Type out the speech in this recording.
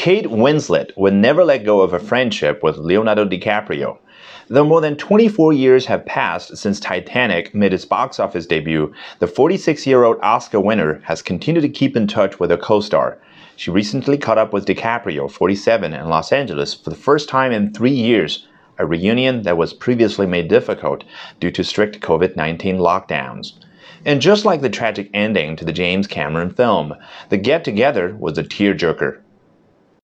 Kate Winslet would never let go of a friendship with Leonardo DiCaprio. Though more than 24 years have passed since Titanic made its box office debut, the 46-year-old Oscar winner has continued to keep in touch with her co-star. She recently caught up with DiCaprio, 47, in Los Angeles for the first time in 3 years, a reunion that was previously made difficult due to strict COVID-19 lockdowns. And just like the tragic ending to the James Cameron film, the get-together was a tearjerker.